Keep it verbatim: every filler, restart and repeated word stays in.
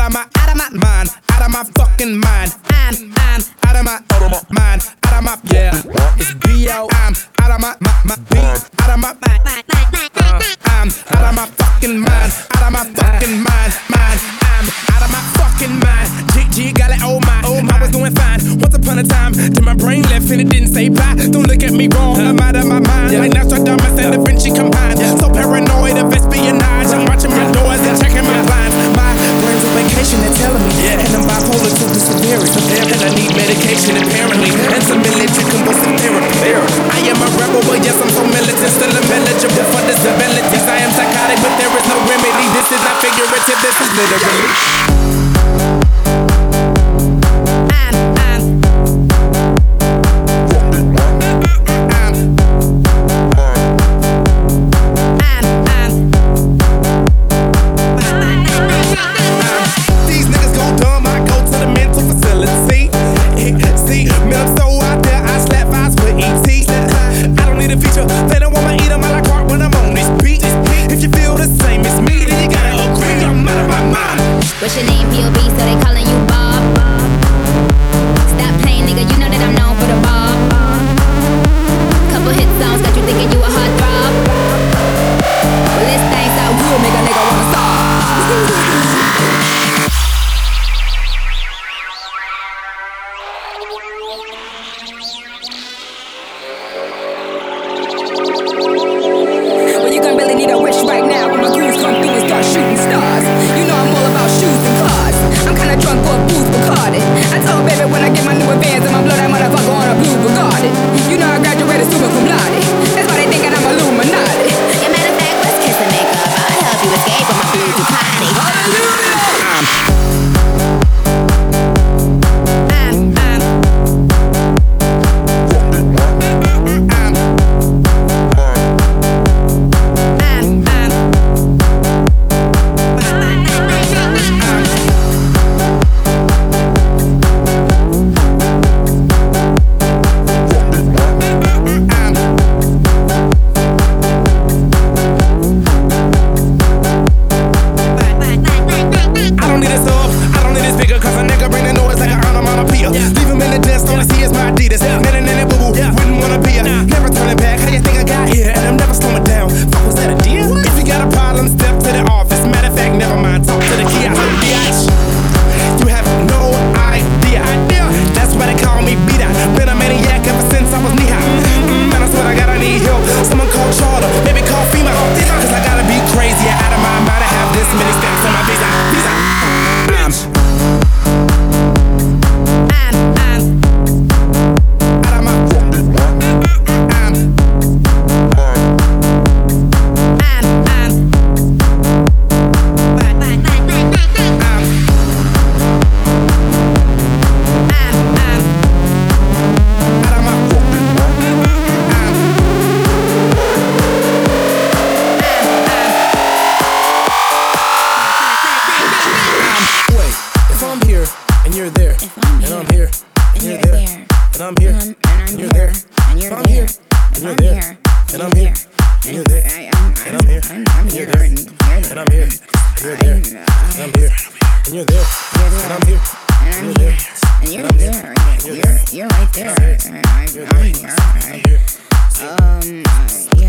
of my, out of my mind, out of my fucking mind. I'm, I'm out of my, out of my mind, out of my, yeah. It's B O. I'm out of my, my, my beat, out of my mind. Uh, I'm out of my fucking mind, out of my fucking mind, mind. I'm out of my fucking mind. G G got it, oh my, oh my. I was doing fine once upon a time. Till my brain left and it didn't say bye. Don't look at me wrong, I'm out of my mind. Like Nostradamus and Da Vinci combined. So paranoid of espionage. I'm watching my doors and checking my blinds. My brain's on vacation, they're telling me. Yeah. And I'm bipolar to the severity. And I need medication apparently. And some military convulsive therapy. I am a rebel, but yes, I'm so militant. Still eligible for disabilities. I am psychotic, but there is no remedy. This is not figurative, this is literally. What's your name, P O B, so they calling you Bob? Stop playing, nigga, you know that I'm known for the Bob. Couple hit songs got you thinking you a hot throb. Well, this thing sound good, make a nigga wanna stop. Well, you gon' really need a wish right now when my goons come through and start shooting stars. You know I'm all about shoes and cars. I'm kinda drunk off booze Bacardi. I told baby when I get my new advance, I'ma blow that motherfucker on a blue Bugatti. You know I graduated summa cum laude. That's why they thinkin' I'm Illuminati. Yeah, matter of fact, let's kiss and make up. I'll help you escape from my blue Ducati. I'm You're right there. I'm here. Um, yeah.